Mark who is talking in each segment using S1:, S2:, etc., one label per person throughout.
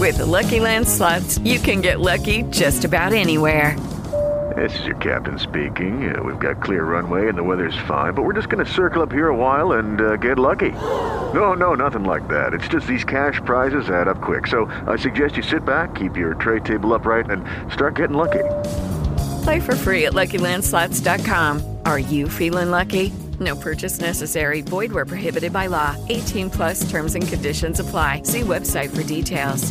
S1: With the Lucky Land Slots, you can get lucky just about anywhere.
S2: This is your captain speaking. We've got clear runway and the weather's fine, but we're just going to circle up here a while and get lucky. No, nothing like that. It's just these cash prizes add up quick. So I suggest you sit back, keep your tray table upright, and start getting lucky.
S1: Play for free at LuckyLandSlots.com. Are you feeling lucky? No purchase necessary. Void where prohibited by law. 18 plus terms and conditions apply. See website for details.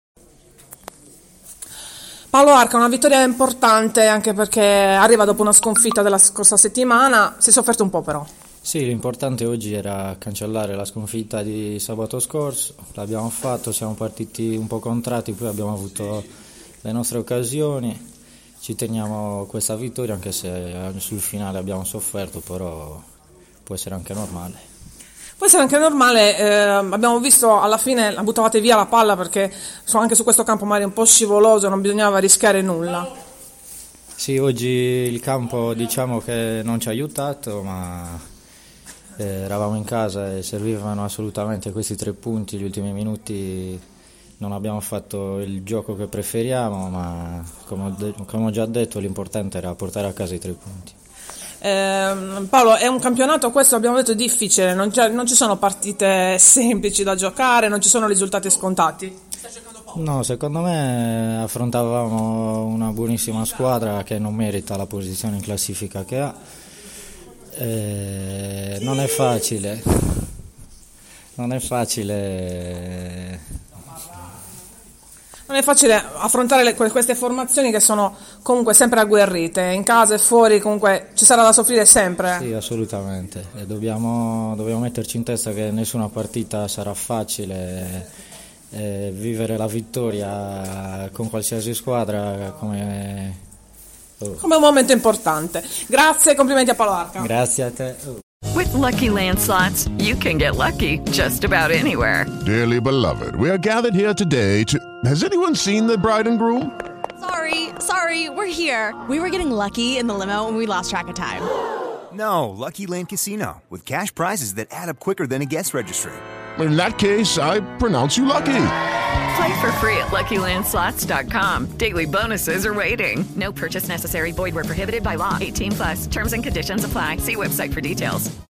S3: Paolo Arca, una vittoria importante anche perché arriva dopo una sconfitta della scorsa settimana. Si è sofferto un po' però.
S4: Sì, l'importante oggi era cancellare la sconfitta di sabato scorso. L'abbiamo fatto, siamo partiti un po' contratti, poi abbiamo avuto le nostre occasioni. Ci teniamo questa vittoria anche se sul finale abbiamo sofferto, però può essere anche normale.
S3: Può essere anche normale, abbiamo visto alla fine la buttavate via la palla perché anche su questo campo magari un po' scivoloso, non bisognava rischiare nulla.
S4: Sì, oggi il campo diciamo che non ci ha aiutato, ma eravamo in casa e servivano assolutamente questi 3 punti. Gli ultimi minuti non abbiamo fatto il gioco che preferiamo, ma come ho già detto l'importante era portare a casa i 3 punti.
S3: Paolo, è un campionato, questo abbiamo detto, difficile, non ci sono partite semplici da giocare, non ci sono risultati scontati.
S4: No, secondo me affrontavamo una buonissima squadra che non merita la posizione in classifica che ha. Non è facile
S3: affrontare queste formazioni che sono comunque sempre agguerrite, in casa e fuori comunque ci sarà da soffrire sempre.
S4: Sì, assolutamente, e dobbiamo metterci in testa che nessuna partita sarà facile, vivere la vittoria con qualsiasi squadra come
S3: un momento importante. Grazie e complimenti a Paolo Arca.
S4: Grazie a te.
S1: With Lucky Land Slots, you can get lucky just about anywhere.
S5: Dearly beloved, we are gathered here today to... Has anyone seen the bride and groom?
S6: Sorry, we're here. We were getting lucky in the limo and we lost track of time.
S7: No, Lucky Land Casino, with cash prizes that add up quicker than a guest registry.
S5: In that case, I pronounce you lucky.
S1: Play for free at LuckyLandSlots.com. Daily bonuses are waiting. No purchase necessary. Void where prohibited by law. 18 plus. Terms and conditions apply. See website for details.